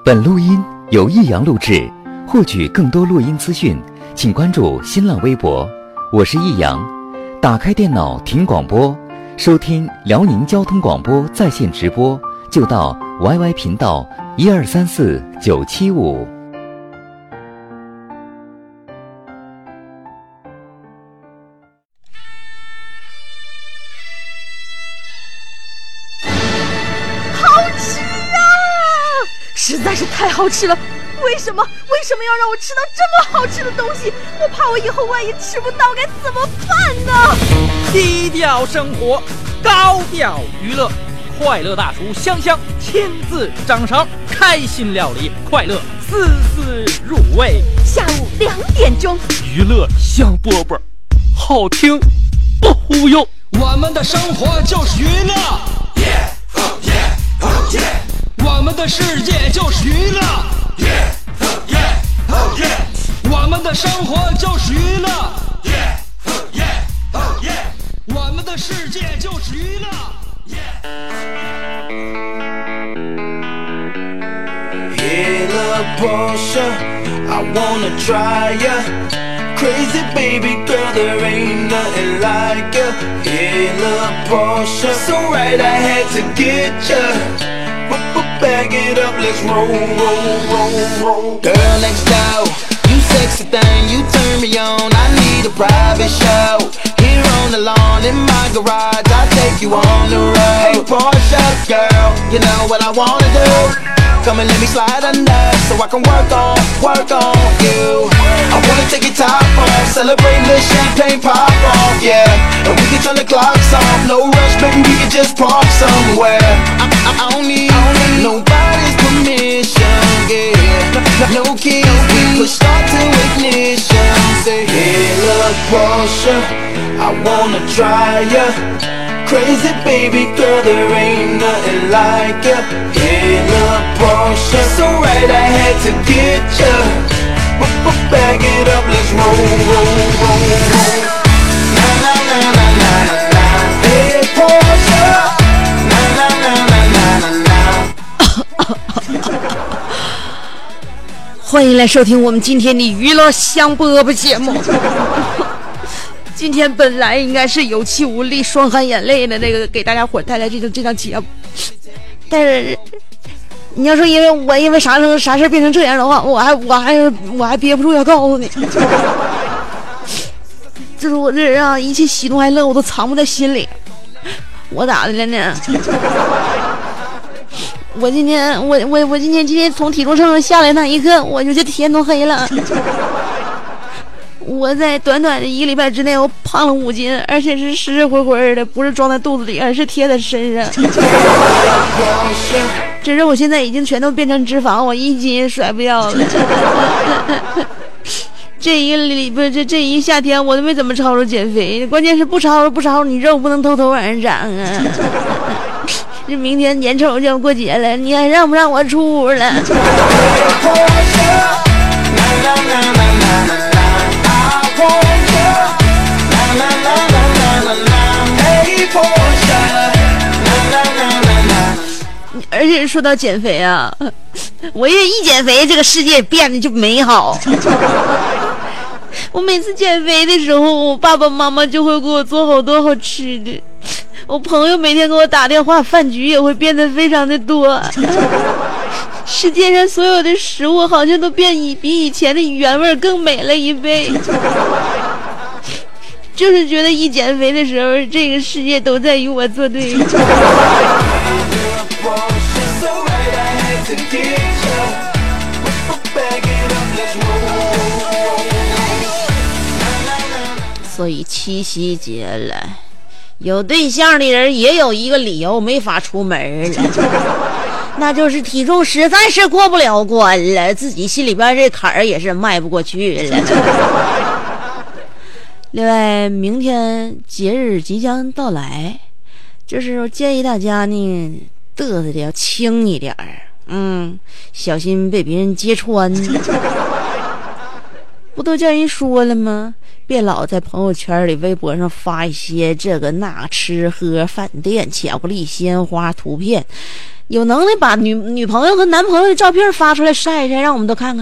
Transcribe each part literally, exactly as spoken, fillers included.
本录音由益阳录制，获取更多录音资讯，请关注新浪微博，我是益阳。打开电脑听广播，收听辽宁交通广播在线直播，就到 Y Y 频道一二三四九七五。 实在是太好吃了，为什么为什么要让我吃到这么好吃的东西？我怕我以后万一吃不到该怎么办呢？ 低调生活，高调娱乐，快乐大厨香香亲自掌勺，开心料理，快乐丝丝入味。 下午两点钟， 娱乐香饽饽，好听不忽悠。 我们的生活就是娱乐。Yeah, oh yeah, oh yeah。我们的世界就是娱乐 ，Yeah, oh yeah, oh yeah。 我们的生活就是娱乐 ，Yeah, oh yeah, oh yeah。 我们的世界就是娱乐 ，Yeah。Hey, little Portia, I wanna try ya. Crazy baby girl, there ain't nothing like ya. Hey, little Portia, so right I had to get ya.Back it up, let's roll, roll, roll, roll. Girl next door, you sexy thing, you turn me on. I need a private show. Here on the lawn in my garage, I'll take you on the road. Hey Portia, girl, you know what I wanna do. Come and let me slide under, so I can work on, work on you. I wanna take your top off, celebrate the champagne pop off, yeah. And we can turn the clocks off, no rush, baby, we can just park somewhere. I, I, I don't need, I don't need nobody's permission, yeah. No, no keys, we push start to ignition. Say, hey, look, Portia, I wanna try ya. Crazy baby girl, there ain't nothing like ya. Hey, look, Portia, so right I had to get ya. Back it up, let's roll, roll, roll, roll. Na na na na na na na. Hey, Portia. Na na na na na na na. 欢迎来收听我们今天的娱乐香饽饽节目。今天本来应该是有气无力、双含眼泪的那个给大家伙带来这个这档节目，但是你要说因为我因为啥事啥事变成这样的话，我还我还我还憋不住要告诉你，就是我这人啊，一切喜怒哀乐我都藏不在心里。我咋的了呢？我今天我我我今天今天从体重秤上下来那一刻，我就这天都黑了。我在短短的一个礼拜之内，我胖了五斤，而且是实实回回的，不是装在肚子里，而是贴在身上。只是我现在已经全都变成脂肪，我一斤也甩不掉了。这一个礼拜，这这一夏天我都没怎么操着减肥，关键是不操着不操着，你肉不能偷偷往上长啊。这明天眼瞅就要过节了，你还让不让我出屋了？而且说到减肥啊，我也一减肥，这个世界变得就美好。我每次减肥的时候，我爸爸妈妈就会给我做好多好吃的，我朋友每天给我打电话，饭局也会变得非常的多。世界上所有的食物好像都变以比以前的原味更美了一倍。就是觉得一减肥的时候，这个世界都在与我作对。所以七夕节了，有对象的人也有一个理由没法出门了，那就是体重实在是过不了关了，自己心里边这坎儿也是迈不过去了。另外，明天节日即将到来，就是我建议大家呢，嘚瑟的要轻一点儿，嗯，小心被别人揭穿。 不都叫人说了吗？别老在朋友圈里、微博上发一些这个那吃喝、饭店、巧克力、鲜花图片，有能力把女女朋友和男朋友的照片发出来晒一晒，让我们都看看。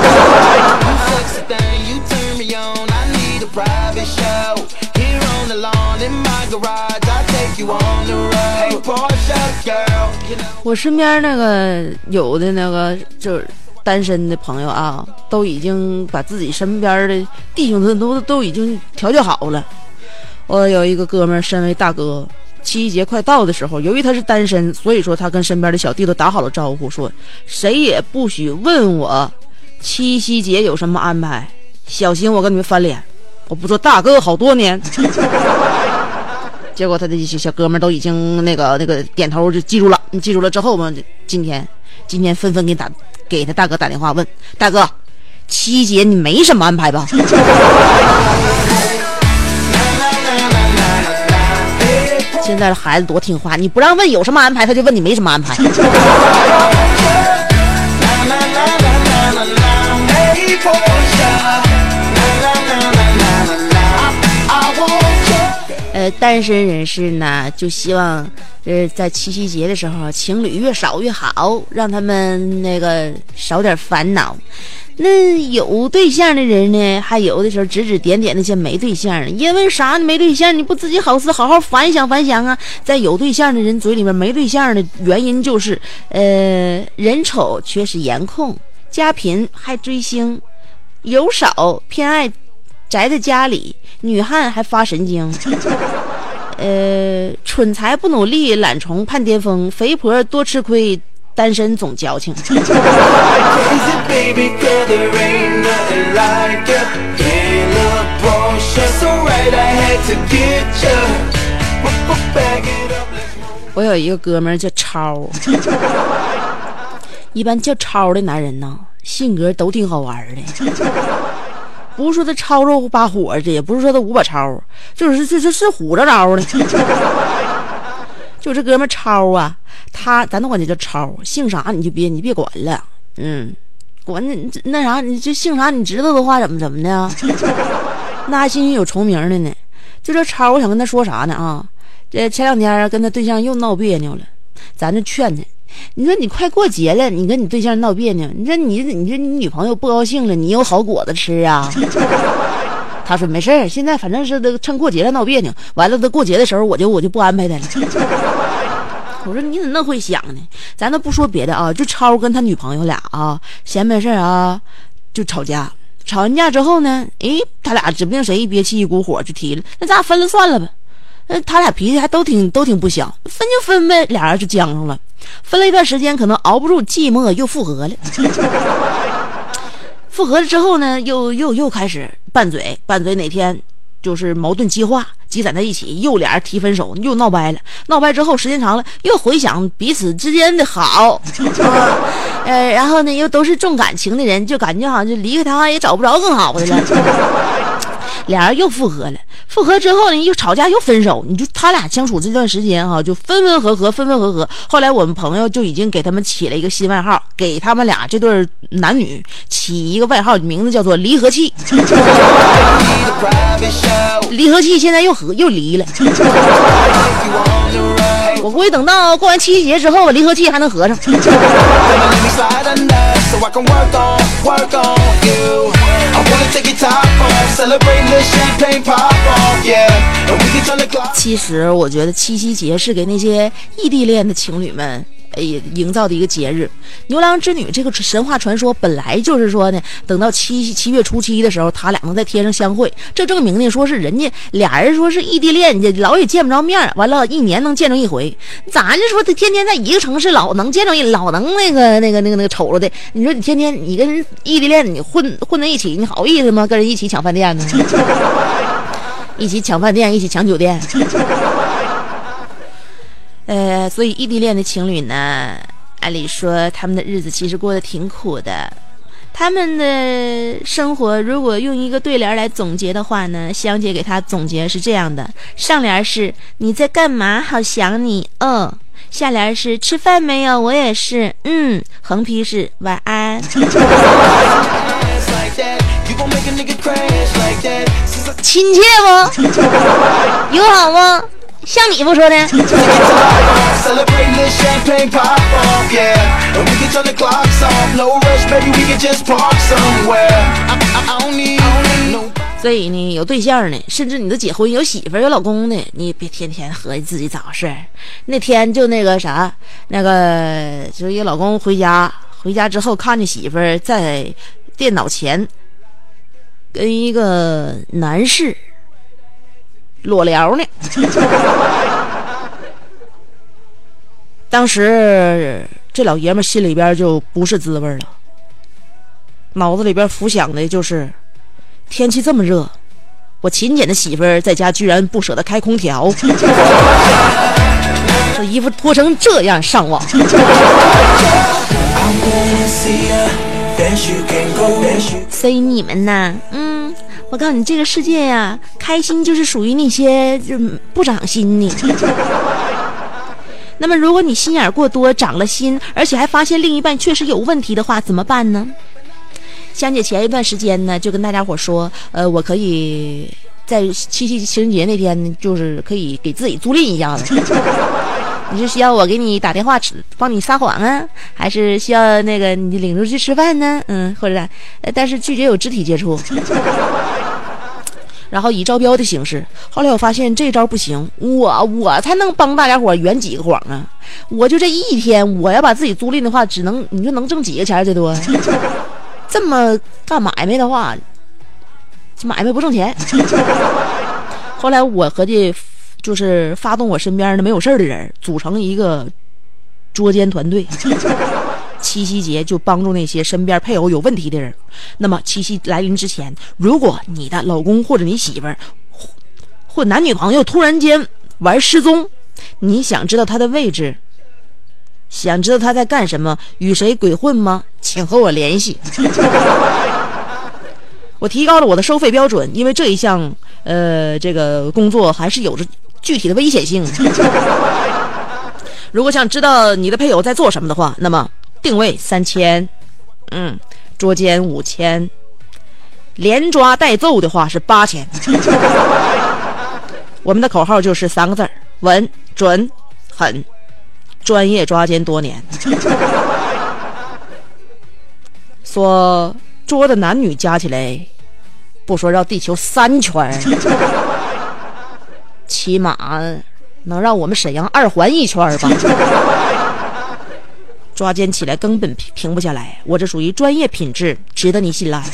我身边那个有的那个就是单身的朋友啊，都已经把自己身边的弟兄都都都已经调教好了。我有一个哥们儿，身为大哥，七夕节快到的时候，由于他是单身，所以说他跟身边的小弟都打好了招呼，说谁也不许问我七夕节有什么安排，小心我跟你们翻脸。我不做大哥好多年。结果他的小哥们都已经那个那个点头就记住了，记住了之后嘛，今天今天纷纷给打给他大哥打电话问大哥，七节你没什么安排吧？现在的孩子多听话，你不让问有什么安排，他就问你没什么安排。呃，单身人士呢，就希望呃在七夕节的时候，情侣越少越好，让他们那个少点烦恼。那有对象的人呢，还有的时候指指点点那些没对象的，因为啥呢？没对象你不自己好思好好反想反想啊。在有对象的人嘴里面，没对象的原因就是呃人丑缺失颜控，家贫还追星，油少偏爱宅在家里，女汉还发神经，呃，蠢材不努力，懒虫盼巅峰，肥婆多吃亏，单身总矫情。我有一个哥们儿叫超，一般叫超的男人呢，性格都挺好玩的。不是说他超肉把火的，也不是说他五把超，就是就就是虎着招的。就这哥们超啊，他咱都管他叫超，姓啥你就别你别管了，嗯，管你那啥，你这姓啥你知道的话怎么怎么的，那还幸运有重名的呢。就这超，我想跟他说啥呢啊？这前两天跟他对象又闹别扭了，咱就劝他。你说你快过节了，你跟你对象闹别扭，你说你你说你女朋友不高兴了，你有好果子吃啊？他说没事儿，现在反正是趁过节了闹别扭，完了他过节的时候我就我就不安排他了。我说你怎么那会想呢？咱都不说别的啊，就超跟他女朋友俩啊闲没事啊就吵架，吵完架之后呢，诶，他俩指不定谁一憋气一股火就提了，那咱俩分了算了吧。呃，他俩脾气还都挺都挺不小，分就分呗，俩人就僵上了。分了一段时间，可能熬不住寂寞，又复合了。复合了之后呢，又又又开始拌嘴，拌嘴哪天就是矛盾激化，积攒在一起，又俩人提分手，又闹掰了。闹掰之后，时间长了，又回想彼此之间的好，呃，然后呢，又都是重感情的人，就感觉好像就离开他也找不着更好的了。俩人又复合了，复合之后呢，又吵架又分手。你就他俩相处这段时间哈、啊，就分分合合，分分合合。后来我们朋友就已经给他们起了一个新外号，给他们俩这对男女起一个外号，名字叫做离合器。离合器现在又合又离了。我估计等到过完七夕节之后，离合器还能合上。其实我觉得七夕节是给那些异地恋的情侣们诶营造的一个节日。牛郎织女这个神话传说本来就是说呢，等到七七月初七的时候，他俩能在天上相会，这证明呢说是人家俩人说是异地恋，你老也见不着面，完了一年能见着一回。咱就说他天天在一个城市，老能见着一老能那个那个那个那个瞅着的。你说你天天你跟异地恋你混混在一起，你好意思吗？跟人一起抢饭店呢？一起抢饭店，一起抢酒店。呃，所以异地恋的情侣呢，按理说他们的日子其实过得挺苦的。他们的生活如果用一个对联来总结的话呢，香姐给他总结是这样的：上联是你在干嘛，好想你，嗯；下联是吃饭没有，我也是，嗯；横批是晚安。 亲切不？友好吗？像你不说的。所以呢，有对象呢，甚至你都结婚有媳妇有老公呢，你别天天合计自己咋回事。那天就那个啥，那个就是一个老公回家，回家之后看见媳妇在电脑前跟一个男士裸聊呢。当时这老爷们心里边就不是滋味了，脑子里边浮想的就是天气这么热，我勤俭的媳妇儿在家居然不舍得开空调，这衣服脱成这样上网。所以你们呐，嗯，我告诉你，这个世界呀、啊，开心就是属于那些就不长心的。那么如果你心眼过多，长了心，而且还发现另一半确实有问题的话，怎么办呢？香姐前一段时间呢，就跟大家伙说，呃，我可以在七夕情人节那天，就是可以给自己租赁一下子。你是需要我给你打电话帮你撒谎啊，还是需要那个你领出去吃饭呢？嗯，或者呃，但是拒绝有肢体接触。然后以招标的形式，后来我发现这招不行，我我才能帮大家伙圆几个谎啊！我就这一天，我要把自己租赁的话，只能你说能挣几个钱最多？这么干买卖的话，买卖不挣钱。后来我合计，就是发动我身边的没有事的人，组成一个捉奸团队。七夕节就帮助那些身边配偶有问题的人。那么七夕来临之前，如果你的老公或者你媳妇儿或男女朋友突然间玩失踪，你想知道他的位置，想知道他在干什么，与谁鬼混吗？请和我联系。我提高了我的收费标准，因为这一项呃这个工作还是有着具体的危险性。如果想知道你的配偶在做什么的话，那么定位三千，嗯，捉奸五千，连抓带揍的话是八千。我们的口号就是三个字：稳、准、狠。专业抓奸多年。说捉的男女加起来，不说绕地球三圈，起码能让我们沈阳二环一圈吧。抓奸起来根本停不下来，我这属于专业品质，值得你信赖。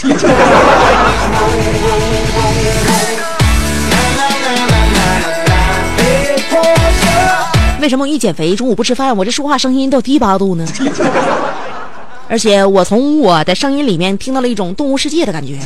为什么我一减肥中午不吃饭，我这说话声音都低八度呢？而且我从我的声音里面听到了一种动物世界的感觉。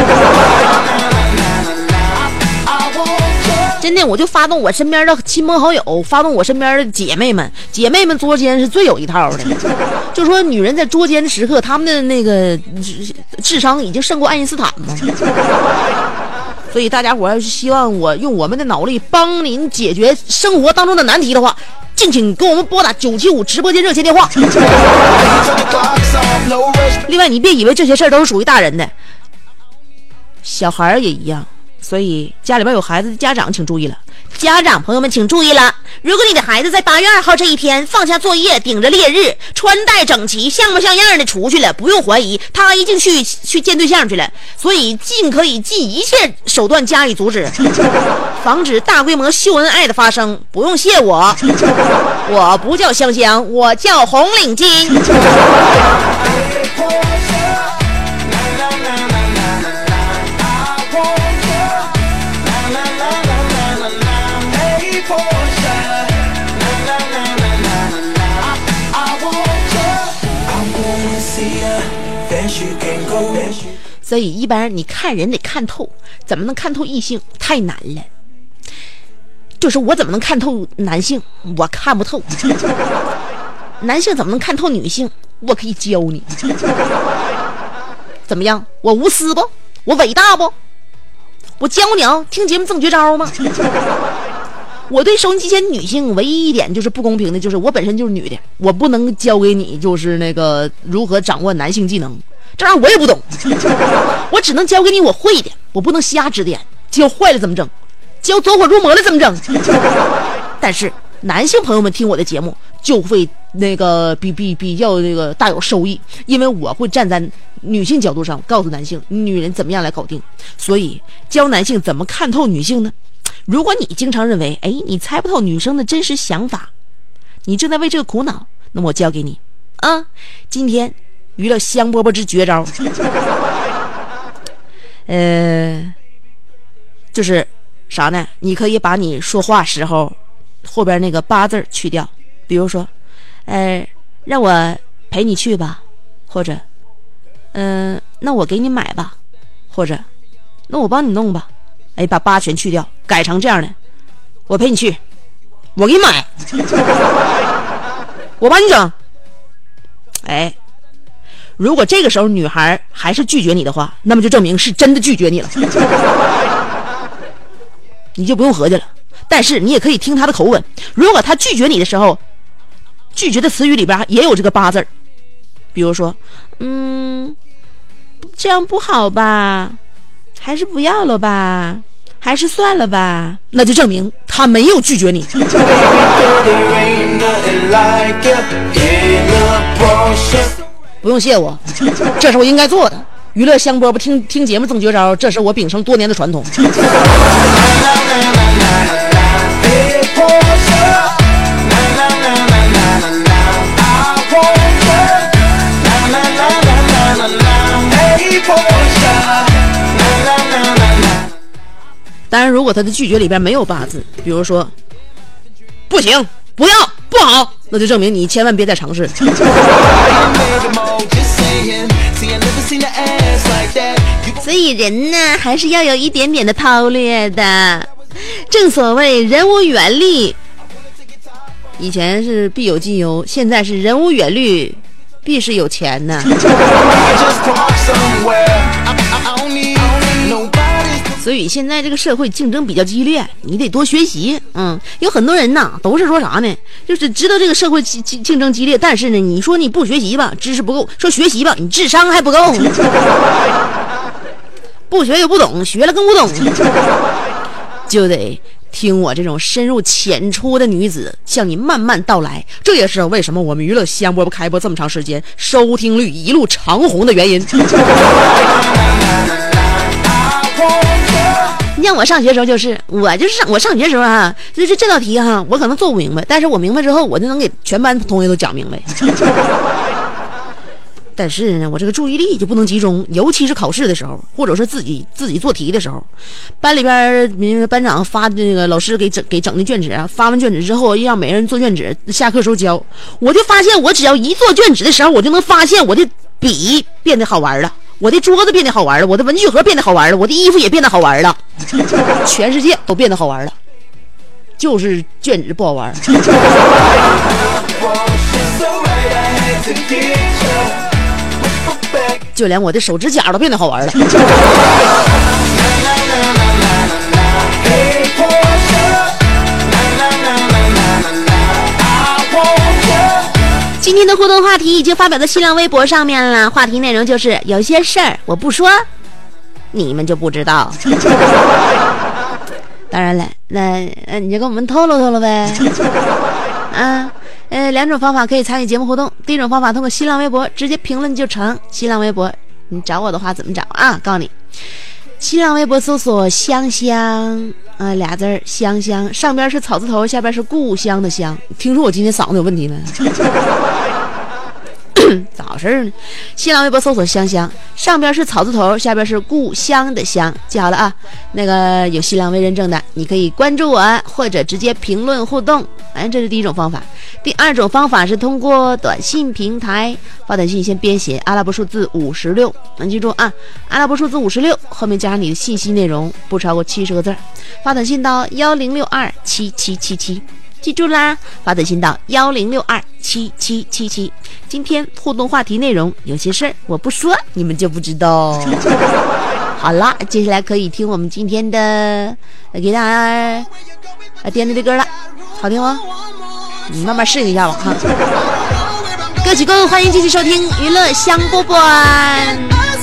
真的，我就发动我身边的亲朋好友，发动我身边的姐妹们，姐妹们捉奸是最有一套的。就说女人在捉奸的时刻，她们的那个智商已经胜过爱因斯坦嘛。所以大家伙要是希望我用我们的脑力帮您解决生活当中的难题的话，敬请给我们拨打九七五直播间热线电话。另外，你别以为这些事儿都是属于大人的，小孩也一样。所以家里边有孩子的家长请注意了，家长朋友们请注意了，如果你的孩子在八月二号这一天放下作业，顶着烈日，穿戴整齐，像模像样的出去了，不用怀疑他一定去去见对象去了。所以尽可以尽一切手段加以阻止，防止大规模秀恩爱的发生。不用谢我，我不叫香香，我叫红领巾。所以一般你看人得看透，怎么能看透异性太难了。就是我怎么能看透男性，我看不透。男性怎么能看透女性，我可以教你。怎么样，我无私不？我伟大不？我教你啊，听节目赠绝招吗？我对收音机前女性唯一一点就是不公平的，就是我本身就是女的，我不能教给你就是那个如何掌握男性技能。 这玩意儿我也不懂，我只能教给你我会的，我不能瞎指点，教坏了怎么整，教走火入魔了怎么整。但是男性朋友们听我的节目就会那个比比比较那个大有收益，因为我会站在女性角度上告诉男性女人怎么样来搞定。所以教男性怎么看透女性呢？如果你经常认为哎你猜不透女生的真实想法，你正在为这个苦恼，那么我教给你啊，今天娱乐香饽饽之绝招，呃，就是啥呢？你可以把你说话时候后边那个八字去掉，比如说，呃，让我陪你去吧，或者，嗯、呃，那我给你买吧，或者，那我帮你弄吧，哎，把八全去掉，改成这样的，我陪你去，我给你买，我帮你整，哎。如果这个时候女孩还是拒绝你的话，那么就证明是真的拒绝你了，你就不用合计了。但是你也可以听她的口吻，如果她拒绝你的时候，拒绝的词语里边也有这个八字，比如说，嗯，这样不好吧，还是不要了吧，还是算了吧，那就证明她没有拒绝你。不用谢我，这是我应该做的。娱乐香饽饽听听节目赠绝招，这是我秉承多年的传统。当然，如果他的拒绝里边没有八字，比如说不行、不要、不好，那就证明你千万别再尝试。所以人呢，还是要有一点点的韬略的。正所谓人无远虑，以前是必有近忧，现在是人无远虑，必是有钱呢。所以现在这个社会竞争比较激烈，你得多学习。嗯，有很多人呐，都是说啥呢？就是知道这个社会竞竞争激烈，但是呢，你说你不学习吧，知识不够；说学习吧，你智商还不够。不学又不懂，学了更不懂，就得听我这种深入浅出的女子向你慢慢道来。这也是为什么我们娱乐香饽饽开播这么长时间，收听率一路长红的原因。你像我上学的时候，就是我就是上我上学的时候啊，就是这道题哈，我可能做不明白，但是我明白之后，我就能给全班同学都讲明白。但是呢，我这个注意力就不能集中，尤其是考试的时候，或者是自己自己做题的时候，班里边班长发那个老师给整给整的卷子啊，发完卷子之后让每人做卷子，下课时候交，我就发现我只要一做卷子的时候，我就能发现我的笔变得好玩了，我的桌子变得好玩了，我的文具盒变得好玩了，我的衣服也变得好玩了，全世界都变得好玩了，就是卷子不好玩。就连我的手指甲都变得好玩了。今天的互动话题已经发表在新浪微博上面了，话题内容就是有些事儿我不说，你们就不知道。当然了，那那你就跟我们透露透露呗。啊。呃，两种方法可以参与节目互动。第一种方法，通过新浪微博直接评论就成。新浪微博，你找我的话怎么找啊？告诉你，新浪微博搜索香香啊、呃、俩字儿香香，上边是草字头，下边是故乡的乡。听说我今天嗓子有问题呢？咋回事呢？新浪微博搜索香香，上边是草字头，下边是故乡的乡，记好了啊。那个有新浪微认证的，你可以关注我，或者直接评论互动。哎，这是第一种方法。第二种方法是通过短信平台发短信，先编写阿拉伯数字五十六，能记住啊？阿拉伯数字五十六后面加上你的信息内容，不超过七十个字，发短信到幺零六二七七七七。记住啦，发短信到幺零六二七七七七。今天互动话题内容有些事儿我不说，你们就不知道。好啦，接下来可以听我们今天的给大家点的这歌了，好听吗？你慢慢适应一下吧哈。 歌曲过后，欢迎继续收听娱乐香饽饽。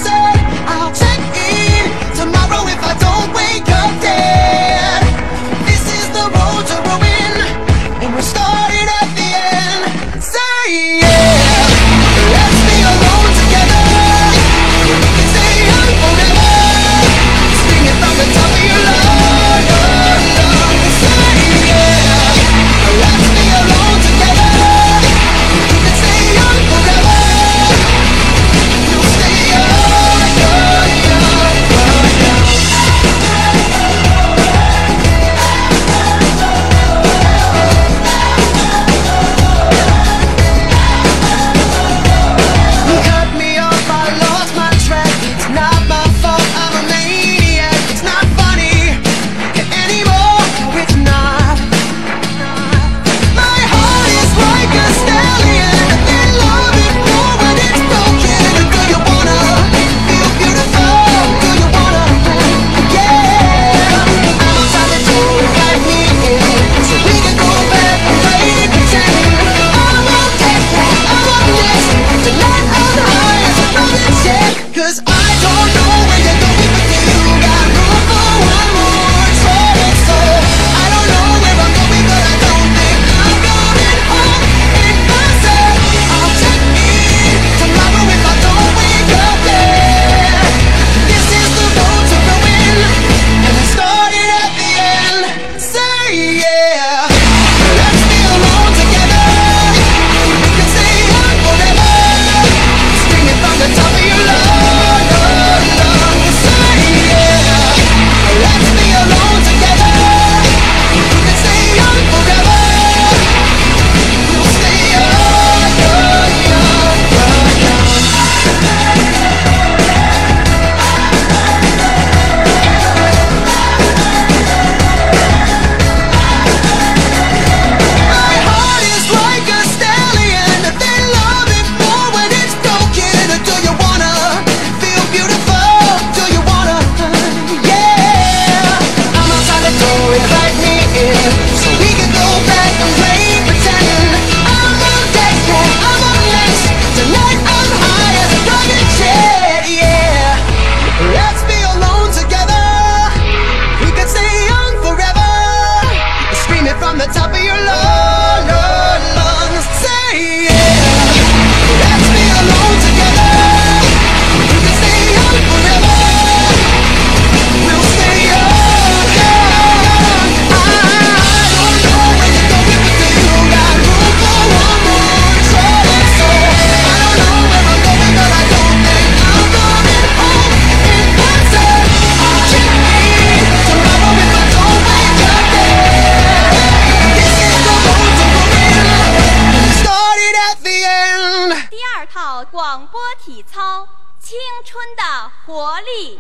广播体操，青春的活力。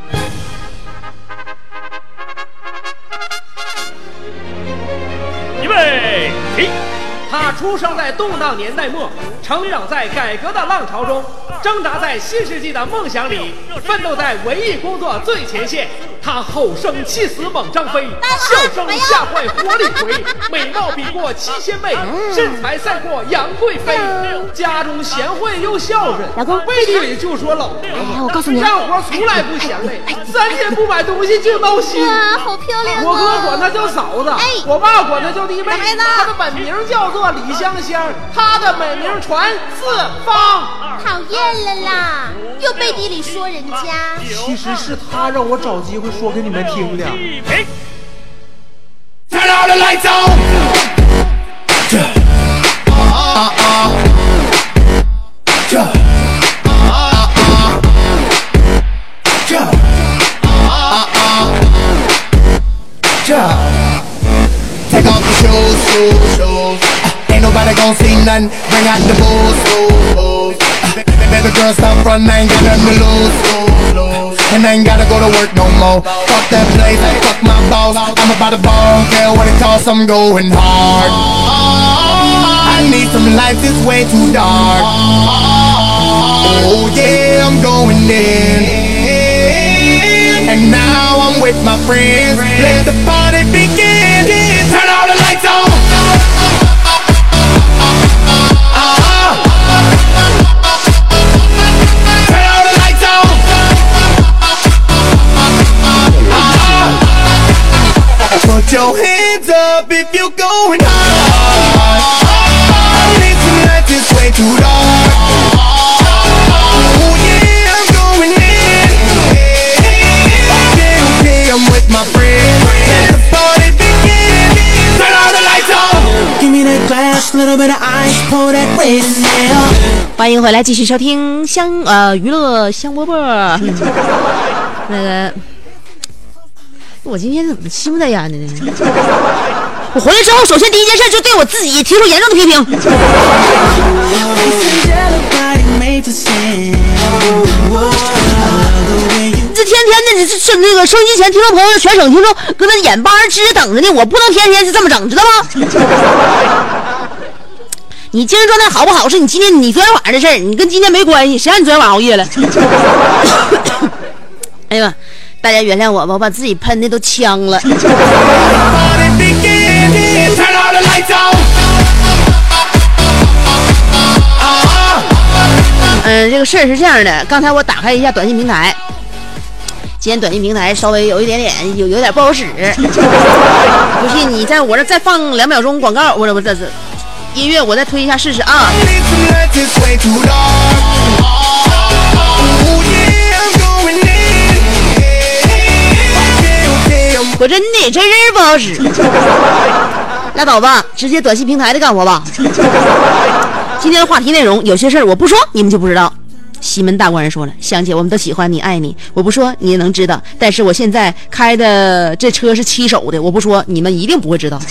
预备起！他出生在动荡年代末，成长在改革的浪潮中，挣扎在新世纪的梦想里，奋斗在文艺工作最前线。他吼声气死猛张飞，笑声吓坏活李逵，美貌比过七仙妹，身材赛过杨贵妃。家中贤惠又孝顺， 老公背地里就说老婆。 哎，我告诉你， 干活从来不嫌累，三天不买东西就闹心。 哇，好漂亮！ 我哥管她叫嫂子， 哎， 我爸管她叫弟妹。 孩子， 她的本名叫做李香香，她的美名传四方。 讨厌了啦，又背地里说人家。 其实是他让我找机会说给你们听的。 Turn all the lights on. Uh uh. Take off the shoes, shoes, shoes. Ain't nobody gon' see nothing. Bring out the booze, booze, booze. Baby girl, stop front, I ain't got nothing to lose, lose, lose. And I ain't gotta go to work no more. Fuck that place, fuck my boss. I'm about to ball, care what it costs, I'm going hard. I need some light, this way too dark. Oh yeah, I'm going in. And now I'm with my friends. Let the party begin. Turn all the lights on. Uh-huh. your hands up if you're going hard. I need some light, this way too dark. Oh yeah, I'm going in. Okay, okay, I'm with my friends. Let the party begin. Turn all the lights on. Give me that glass, little bit of ice, pour that red in there. 欢迎回来，继续收听香呃娱乐香饽饽。那个，我今天怎么心不在焉的呢？我回来之后，首先第一件事就对我自己提出严重的批评。这天天的，你是那个收音机前听众朋友，全省听众搁那眼巴直等着呢，我不能天天是这么整，知道吗？你精神状态好不好是你今天你昨天晚上的事儿，你跟今天没关系。谁让你昨天晚上熬夜了？哎呀，大家原谅我吧，我把自己喷的都呛了。嗯，这个事儿是这样的，刚才我打开一下短信平台，今天短信平台稍微有一点点有有点不好使。不信你在我这再放两秒钟广告，我这我这是。音乐我再推一下试试啊！我真的真是不好使，拉倒吧，直接短信平台的干活吧。今天的话题内容，有些事儿我不说你们就不知道。西门大官人说了，香姐我们都喜欢你爱你，我不说你也能知道，但是我现在开的这车是七手的，我不说你们一定不会知道。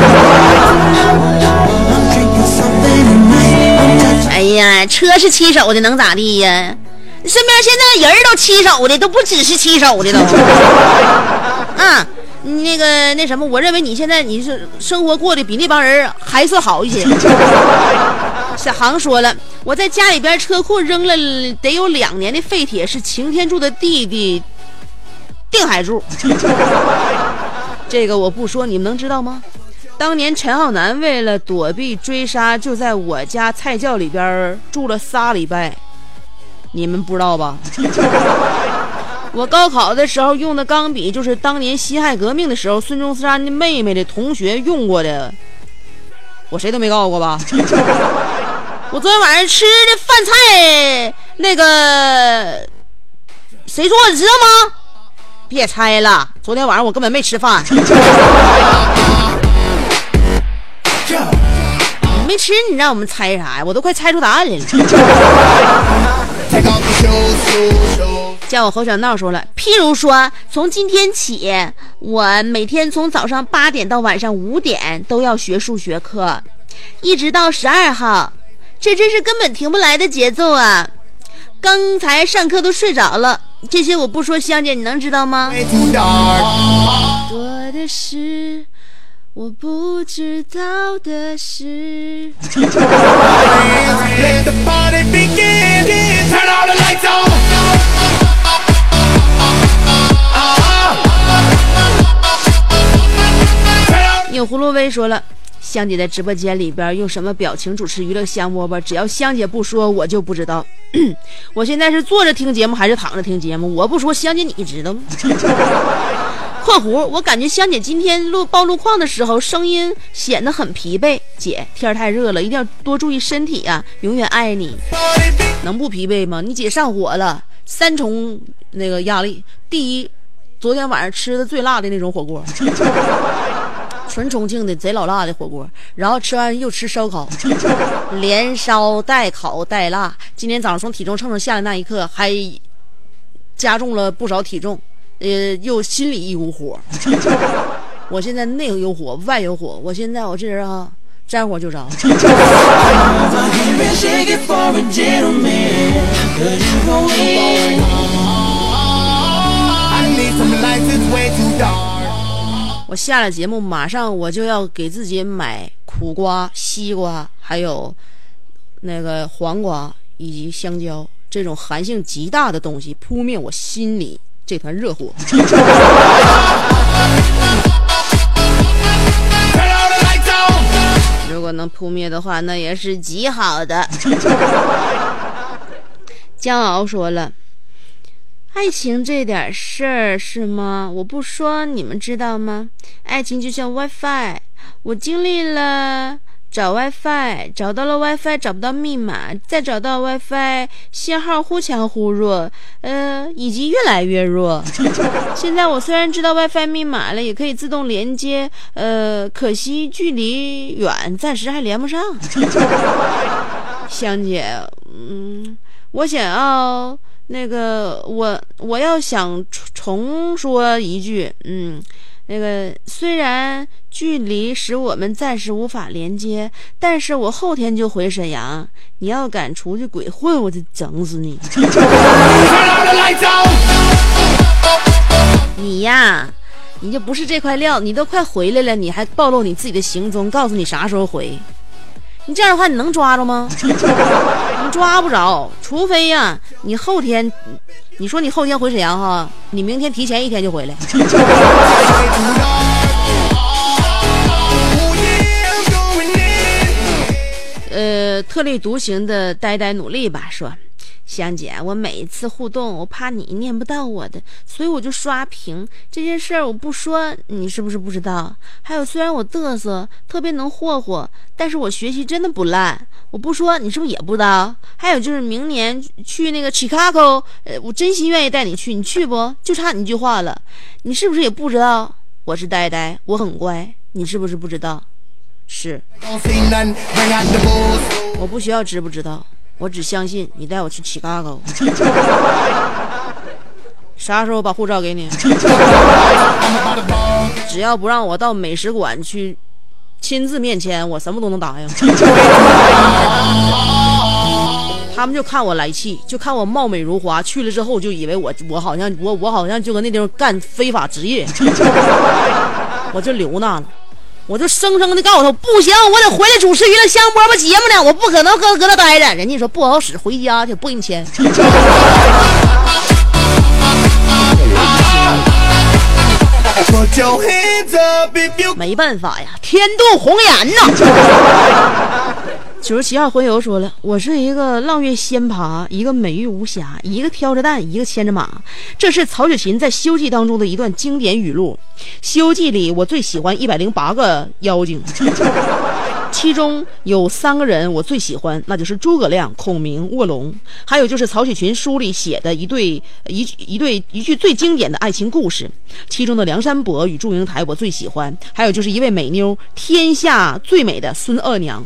哎呀，车是七手的能咋地呀？身边现在人都七手的，都不只是七手的都。啊，那个那什么，我认为你现在你是生活过得比那帮人还算好一些。小航说了，我在家里边车库扔了得有两年的废铁，是擎天柱的弟弟定海柱。这个我不说，你们能知道吗？当年陈浩南为了躲避追杀，就在我家菜窖里边住了仨礼拜，你们不知道吧？我高考的时候用的钢笔就是当年辛亥革命的时候孙中山的妹妹的同学用过的，我谁都没告诉过吧？我昨天晚上吃的饭菜那个谁做的知道吗？别猜了，昨天晚上我根本没吃饭。没吃你让我们猜啥呀？我都快猜出答案来了。叫我侯小闹说了，譬如说从今天起，我每天从早上八点到晚上五点都要学数学课，一直到十二号，这真是根本停不来的节奏啊！刚才上课都睡着了，这些我不说，香姐你能知道吗？多的是我不知道的事。有葫芦威说了，香姐在直播间里边用什么表情主持娱乐香饽饽，只要香姐不说我就不知道。我现在是坐着听节目还是躺着听节目，我不说香姐你知道吗？括弧，我感觉香姐今天录报路况的时候声音显得很疲惫，姐天太热了，一定要多注意身体啊，永远爱你。能不疲惫吗？你姐上火了，三重那个压力，第一昨天晚上吃的最辣的那种火锅，纯重庆的贼老辣的火锅，然后吃完又吃烧烤，连烧带烤带辣。今天早上从体重秤上下来那一刻还加重了不少体重，呃，又心里一股火。我现在内有火外有火，我现在我这人啊沾火就着。我下了节目马上我就要给自己买苦瓜、西瓜还有那个黄瓜以及香蕉这种寒性极大的东西，扑灭我心里这团热火。如果能扑灭的话，那也是极好的。江敖说了， 爱情这点事儿是吗？我不说你们知道吗？爱情就像 WiFi， 我经历了找 WiFi， 找到了 WiFi 找不到密码，再找到 WiFi 信号忽强忽弱，呃，以及越来越弱。现在我虽然知道 WiFi 密码了，也可以自动连接，呃，可惜距离远，暂时还连不上。香姐，嗯，我想要那个，我我要想重说一句，嗯。那个虽然距离使我们暂时无法连接，但是我后天就回沈阳，你要敢出去鬼混，我就整死你。你呀，你就不是这块料，你都快回来了，你还暴露你自己的行踪，告诉你啥时候回。你这样的话，你能抓着吗？你抓不着，除非呀，你后天，你说你后天回沈阳哈，你明天提前一天就回来。呃，特立独行的呆呆努力吧，说。香姐，我每一次互动，我怕你念不到我的，所以我就刷屏。这件事儿我不说，你是不是不知道？还有，虽然我嘚瑟，特别能霍霍，但是我学习真的不烂。我不说，你是不是也不知道？还有就是明年去那个 Chicago， 呃，我真心愿意带你去，你去不？就差你一句话了，你是不是也不知道？我是呆呆，我很乖，你是不是不知道？是。我不需要知不知道。我只相信你带我去起嘎高，啥时候把护照给你？只要不让我到美食馆去亲自面签，我什么都能答应。他们就看我来气，就看我貌美如花，去了之后就以为我我好像我我好像就搁那地方干非法职业，我就留那了。我就生生的告诉他不行，我得回来主持娱乐香饽饽节目呢，我不可能搁搁那待着。人家说不好使，回家去，不给你签。没办法呀，天妒红颜呐。九十七号婚友说了，我是一个浪月仙葩，一个美玉无瑕，一个挑着担，一个牵着马。这是曹雪芹在《西游记》当中的一段经典语录。《西游记》里我最喜欢一百零八个妖精，其中有三个人我最喜欢，那就是诸葛亮、孔明、卧龙，还有就是曹雪芹书里写的一对一一对一句最经典的爱情故事，其中的梁山伯与祝英台我最喜欢，还有就是一位美妞，天下最美的孙二娘。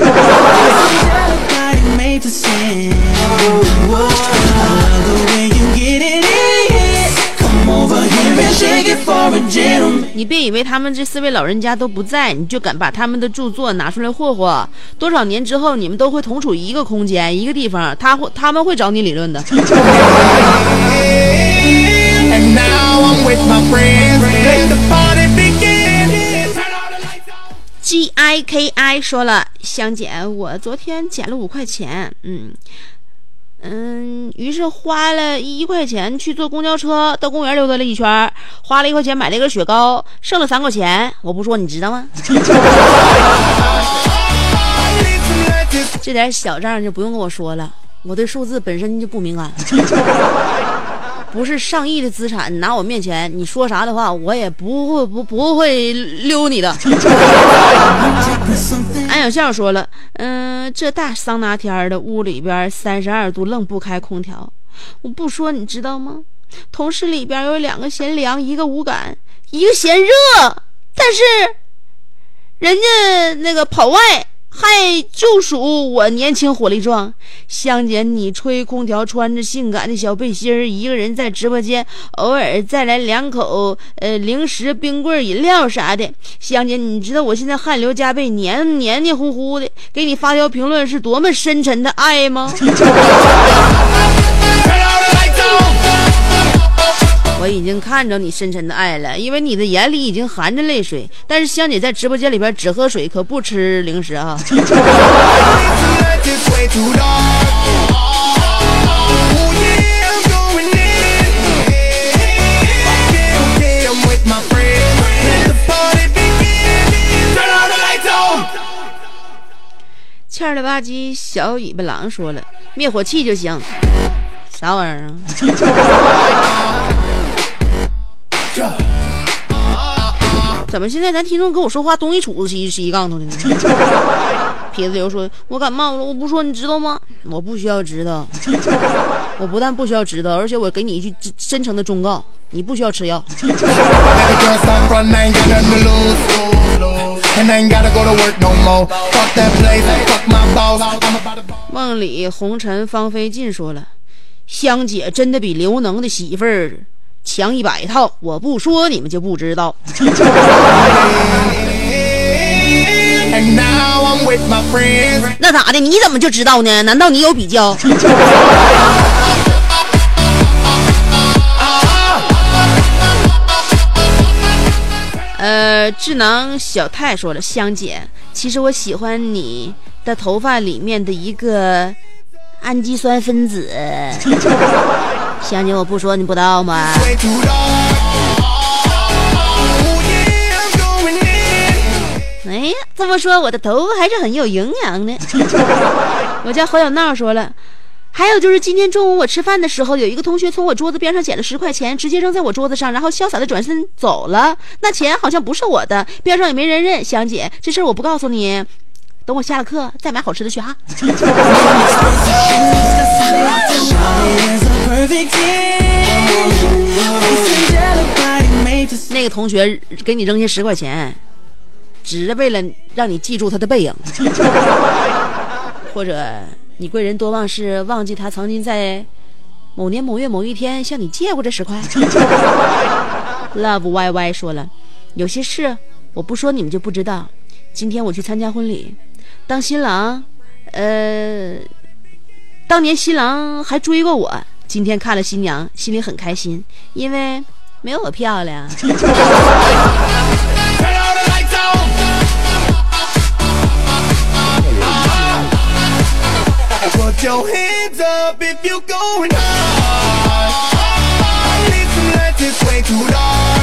你别以为他们这四位老人家都不在，你就敢把他们的著作拿出来霍霍。多少年之后，你们都会同处一个空间、一个地方，他会他们会找你理论的。G I K I 说了，香姐，我昨天捡了五块钱，嗯。嗯，于是花了一块钱去坐公交车到公园溜达了一圈，花了一块钱买了一根雪糕，剩了三块钱。我不说你知道吗？这点小账就不用跟我说了，我对数字本身就不敏感。不是上亿的资产，你拿我面前，你说啥的话，我也不会不不会溜你的。安小笑说了，嗯、呃，这大桑拿天的屋里边三十二度，愣不开空调。我不说你知道吗？同事里边有两个嫌凉，一个无感，一个嫌热，但是人家那个跑外。还就属我年轻火力壮，香姐你吹空调，穿着性感的小背心儿，一个人在直播间，偶尔再来两口呃零食、冰棍、饮料啥的。香姐，你知道我现在汗流浃背，黏黏黏糊糊的，给你发条评论是多么深沉的爱吗？我已经看着你深沉的爱了，因为你的眼里已经含着泪水。但是香姐在直播间里边只喝水，可不吃零食啊。欠儿了吧唧小尾巴狼说了，灭火器就行。 啥玩意儿啊？怎么现在咱听众跟我说话东一杵子西西一杠头的呢？撇子流说：“我感冒了，我不说你知道吗？我不需要知道，我不但不需要知道，而且我给你一句真诚的忠告，你不需要吃药。”梦里红尘芳菲尽说了：“香姐真的比刘能的媳妇儿强一百套，我不说你们就不知道。”那咋的？你怎么就知道呢？难道你有比较？呃，智囊小太说了，香姐，其实我喜欢你的头发里面的一个氨基酸分子。香姐，我不说你不知道吗？哎呀，这么说我的头发还是很有营养的。我家侯小闹说了，还有就是今天中午我吃饭的时候，有一个同学从我桌子边上捡了十块钱，直接扔在我桌子上，然后潇洒的转身走了。那钱好像不是我的，边上也没人认。香姐，这事儿我不告诉你，等我下了课再买好吃的去哈。那个同学给你扔下十块钱，只是为了让你记住他的背影，或者你贵人多忘事，忘记他曾经在某年某月某一天向你借过这十块。Love Y Y 说了，有些事我不说你们就不知道。今天我去参加婚礼，当新郎，呃，当年新郎还追过我，今天看了新娘，心里很开心，因为没有我漂亮。 Put your hands up if you're going hard. I need some lights, it's way too dark.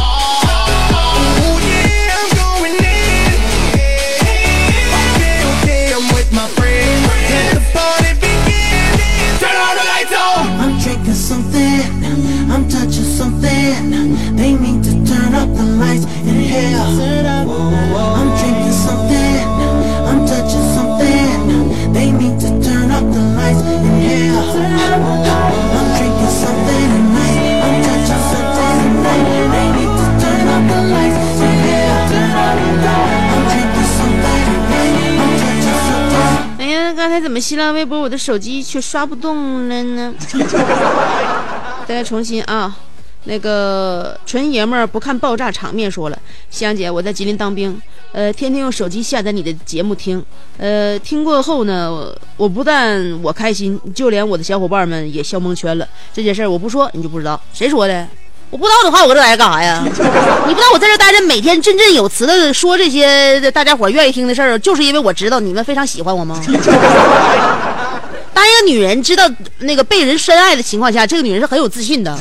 Oh yeah, I'm going in. Okay, okay, I'm with my friends. Let the party begin. Turn all the lights on. I'm drinking something, I'm touching something. They need to turn up the lights in here. I'm drinking something, I'm touching something. They need to turn up the lights in here. I'm drinking something tonight. I'm touching something tonight. They need to turn up the lights in here. I'm drinking something tonight. I'm touching something. 哎呀，刚才怎么新浪微博我的手机却刷不动了呢？再来重新啊！那个纯爷们儿不看爆炸场面说了，香姐，我在吉林当兵，呃，天天用手机下载你的节目听，呃，听过后呢，我, 我不但我开心，就连我的小伙伴们也笑蒙圈了。这件事我不说你就不知道，谁说的？我不知道的话，我这来干啥呀？你不知道我在这待着，每天振振有词的说这些大家伙愿意听的事儿，就是因为我知道你们非常喜欢我吗？当一个女人知道那个被人深爱的情况下，这个女人是很有自信的，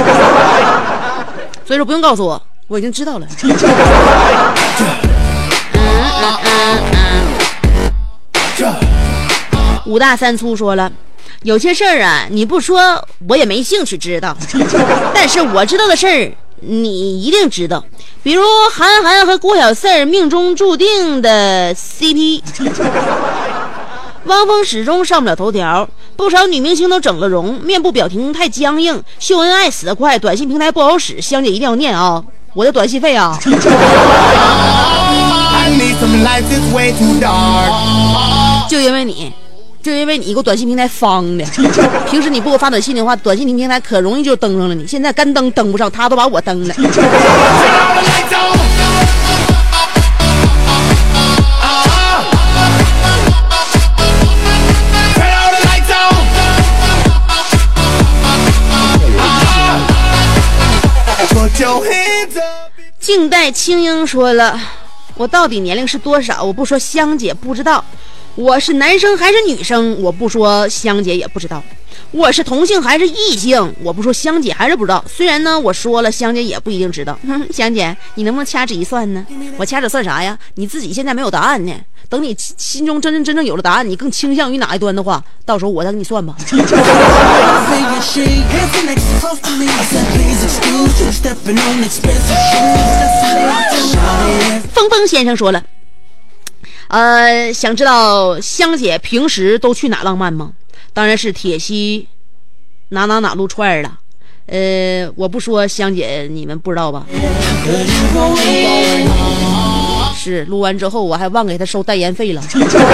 所以说不用告诉我，我已经知道了。嗯嗯嗯嗯。五大三粗说了，有些事儿啊，你不说我也没兴趣知道，但是我知道的事儿你一定知道，比如韩寒和郭小四儿命中注定的 C P。汪峰始终上不了头条，不少女明星都整了容，面部表情太僵硬，秀恩爱死得快，短信平台不好使，香姐一定要念啊，我的短信费啊。就因为你就因为你给我短信平台方的，平时你不给我发短信的话，短信平台可容易就登上了你，现在干登登不上，他都把我登了。静待青樱说了，我到底年龄是多少？我不说，香姐不知道。我是男生还是女生？我不说，香姐也不知道。我是同性还是异性？我不说，香姐还是不知道。虽然呢，我说了，香姐也不一定知道。哼，香姐，你能不能掐指一算呢？我掐指算啥呀？你自己现在没有答案呢。等你心中真正真正有了答案，你更倾向于哪一端的话，到时候我再给你算吧。 峰峰先生说了，呃，想知道香姐平时都去哪浪漫吗？当然是铁西哪哪哪撸串了。呃，我不说香姐你们不知道吧？是录完之后我还忘给她收代言费了。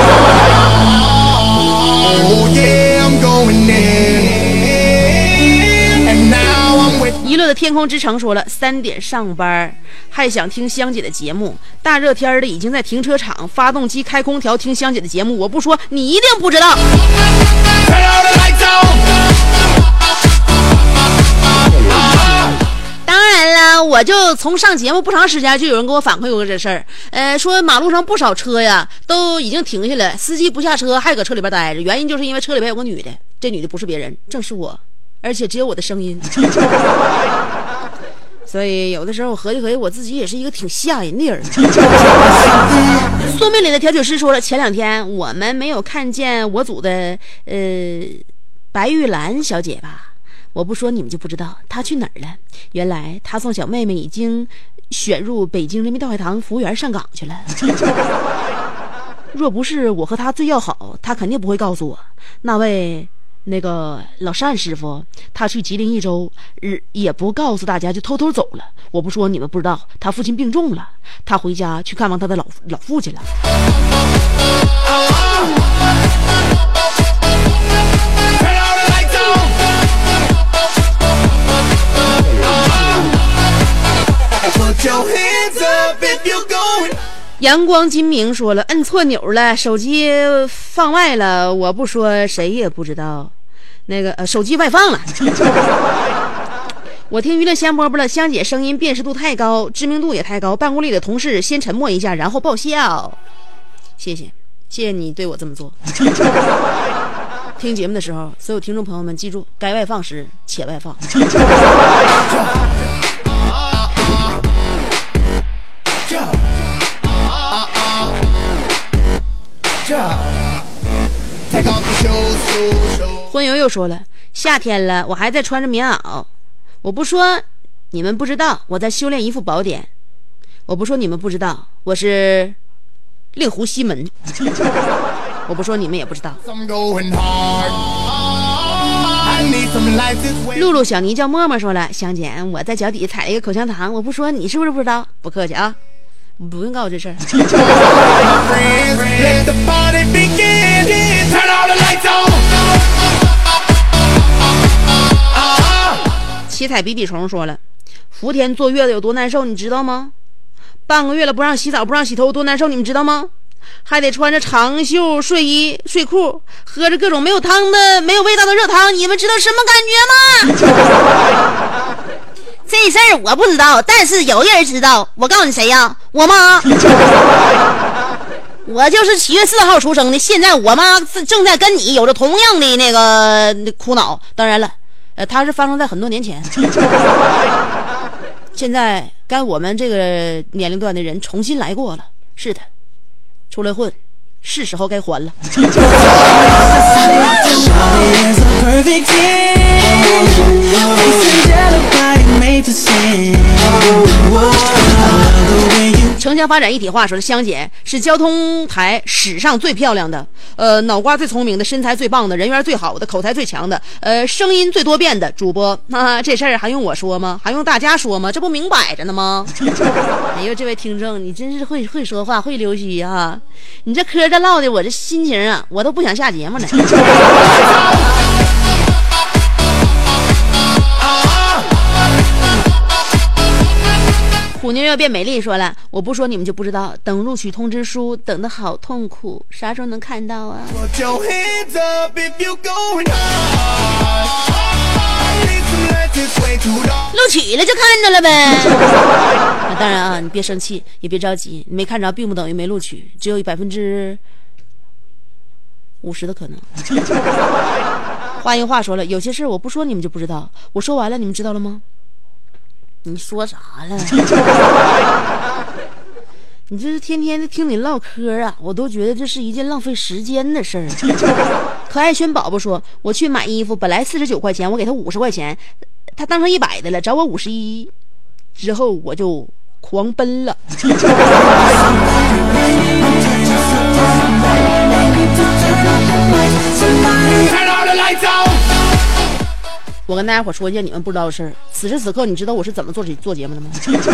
娱乐的天空之城说了，三点上班还想听香姐的节目，大热天的已经在停车场发动机开空调听香姐的节目，我不说你一定不知道。当然了，我就从上节目不长时间就有人给我反馈过这事儿，呃，说马路上不少车呀都已经停下来，司机不下车还搁车里边待着，原因就是因为车里边有个女的，这女的不是别人，正是我，而且只有我的声音。所以有的时候我合计合计，我自己也是一个挺吓人的人。宿命里的调酒师说了，前两天我们没有看见我组的呃白玉兰小姐吧？我不说你们就不知道她去哪儿了。原来她送小妹妹已经选入北京人民大会堂服务员上岗去了。若不是我和她最要好，她肯定不会告诉我。那位那个老单师傅，他去吉林一周，也不告诉大家就偷偷走了。我不说你们不知道，他父亲病重了，他回家去看望他的老老父亲了。阳光金明说了，摁错钮了，手机放外了，我不说谁也不知道。那个呃，手机外放了。我听娱乐香饽饽了，香姐声音辨识度太高，知名度也太高，办公里的同事先沉默一下，然后爆笑。谢谢，谢谢你对我这么做。听节目的时候，所有听众朋友们记住，该外放时且外放。婚友又说了，夏天了我还在穿着棉袄，我不说你们不知道我在修炼一副宝典，我不说你们不知道我是令狐西门，我不说你们也不知道。露露小泥叫默默说了，香姐我在脚底踩了一个口香糖，我不说你是不是不知道？不客气啊，不用告诉我这事儿。七彩比比虫说了，福田坐月子有多难受你知道吗？半个月了不让洗澡不让洗头多难受你们知道吗？还得穿着长袖睡衣睡裤，喝着各种没有汤的没有味道的热汤，你们知道什么感觉吗？这事儿我不知道，但是有人知道，我告诉你谁呀？我妈。我就是七月四号出生的，现在我妈正在跟你有着同样的那个苦恼。当然了，呃，它是发生在很多年前。现在该我们这个年龄段的人重新来过了。是的，出来混，是时候该还了。城乡发展一体化说的，香姐是交通台史上最漂亮的，呃，脑瓜最聪明的，身材最棒的，人缘最好的，口才最强的，呃，声音最多变的主播。啊，这事儿还用我说吗？还用大家说吗？这不明摆着呢吗？哎呦，这位听众，你真是会会说话，会溜须啊！你这嗑这唠的，我这心情啊，我都不想下节目了。虎妞要变美丽说了，我不说你们就不知道，等录取通知书等得好痛苦，啥时候能看到啊？录取了就看着了呗。啊、当然啊，你别生气，也别着急，你没看着并不等于没录取，只有百分之五十的可能。话音话说了，有些事我不说你们就不知道，我说完了你们知道了吗？你说啥了？ 你这是天天的听你唠嗑啊，我都觉得这是一件浪费时间的事儿。可爱轩宝宝说，我去买衣服，本来四十九块钱，我给他五十块钱，他当成一百的了，找我五十一，之后我就狂奔了。我跟大家伙说一件你们不知道的事儿，此时此刻你知道我是怎么做做节目的吗？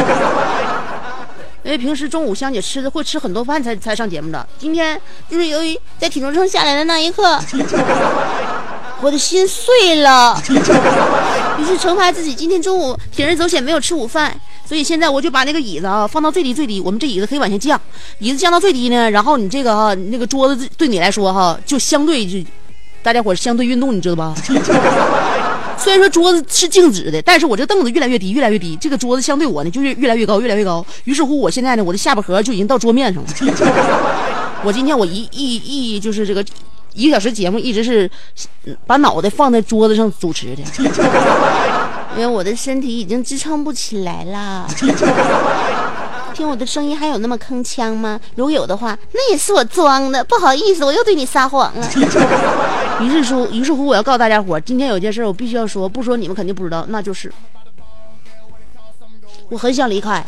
因为平时中午香姐吃的会吃很多饭才才上节目的，今天就是由于在体重秤下来的那一刻，我的心碎了，于是惩罚自己今天中午铤而走险没有吃午饭，所以现在我就把那个椅子啊放到最低最低，我们这椅子可以往下降，椅子降到最低呢，然后你这个哈、啊、那个桌子对你来说哈、啊、就相对就大家伙相对运动，你知道吧？虽然说桌子是静止的，但是我这凳子越来越低越来越低，这个桌子相对我呢就越越来越高越来越高，于是乎我现在呢我的下巴颏就已经到桌面上了。我今天我一一一就是这个一个小时节目一直是把脑袋放在桌子上主持的，因为我的身体已经支撑不起来了。听我的声音还有那么铿锵吗？如果有的话，那也是我装的，不好意思，我又对你撒谎了。于是说，于是乎，我要告诉大家伙，今天有件事我必须要说，不说你们肯定不知道，那就是我很想离开。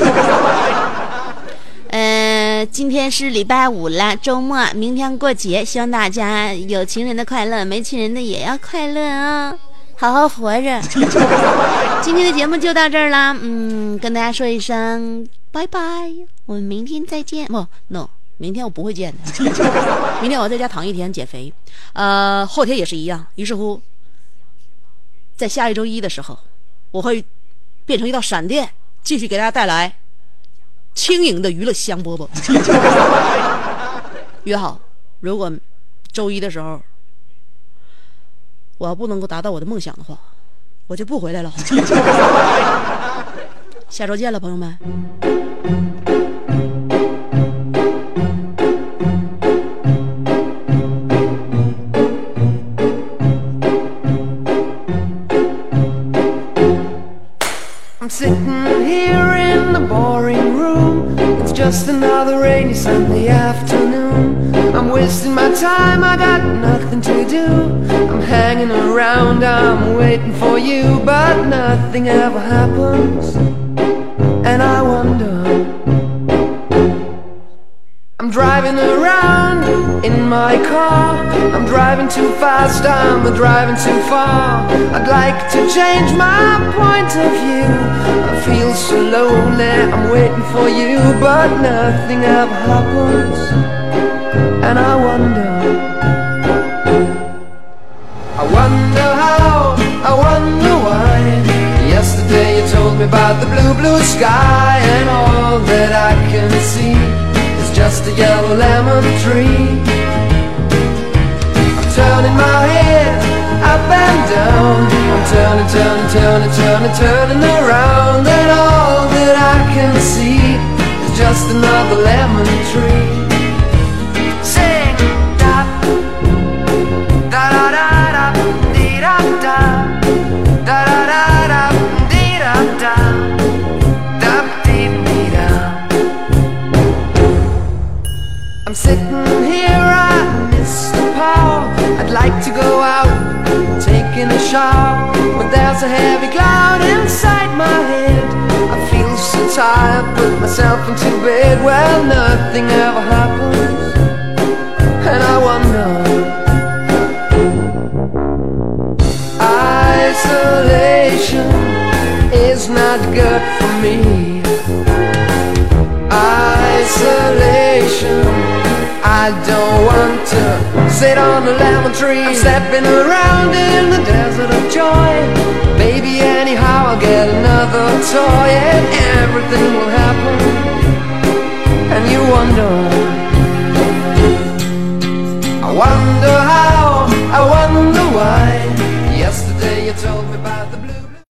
呃，今天是礼拜五了，周末，明天过节，希望大家有情人的快乐，没情人的也要快乐啊、哦，好好活着。今天的节目就到这儿啦，嗯，跟大家说一声拜拜，我们明天再见。不 ，no， 明天我不会见的，明天我要在家躺一天减肥，呃，后天也是一样。于是乎，在下一周一的时候，我会变成一道闪电，继续给大家带来轻盈的娱乐香饽饽。约好，如果周一的时候我要不能够达到我的梦想的话，我就不回来了。下周见了，朋友们。 I'm sitting here in the boring room. It's just another rainy Sunday afternoon. I'm wasting my time, I got nothing to do. I'm hanging around, I'm waiting for you, but nothing ever happens. And I wonder, I'm driving around in my car. I'm driving too fast, I'm driving too far. I'd like to change my point of view. I feel so lonely, I'm waiting for you, but nothing ever happens. And I wonder, I wonder how, I wonder why. Yesterday you told me about the blue, blue sky, and all that I can see is just a yellow lemon tree. I'm turning my head up and down, I'm turning, turning, turning, turning, turning around, and all that I can see is just another lemon tree. Sing da da da da da dee da da da da da da dee da da da dee dee da. I'm sitting here, I miss the power. I'd like to go out, taking a shower, but there's a heavy cloud inside my head. I feel so tired, put myself into bed. Well, nothing ever happens, and I wonder, isolation is not good for me. Isolation, I don't want to sit on a lemon tree. I'm stepping around in the desert of joy. Baby, anyhow I'll get another toy, and everything will happen. And you wonder, I wonder how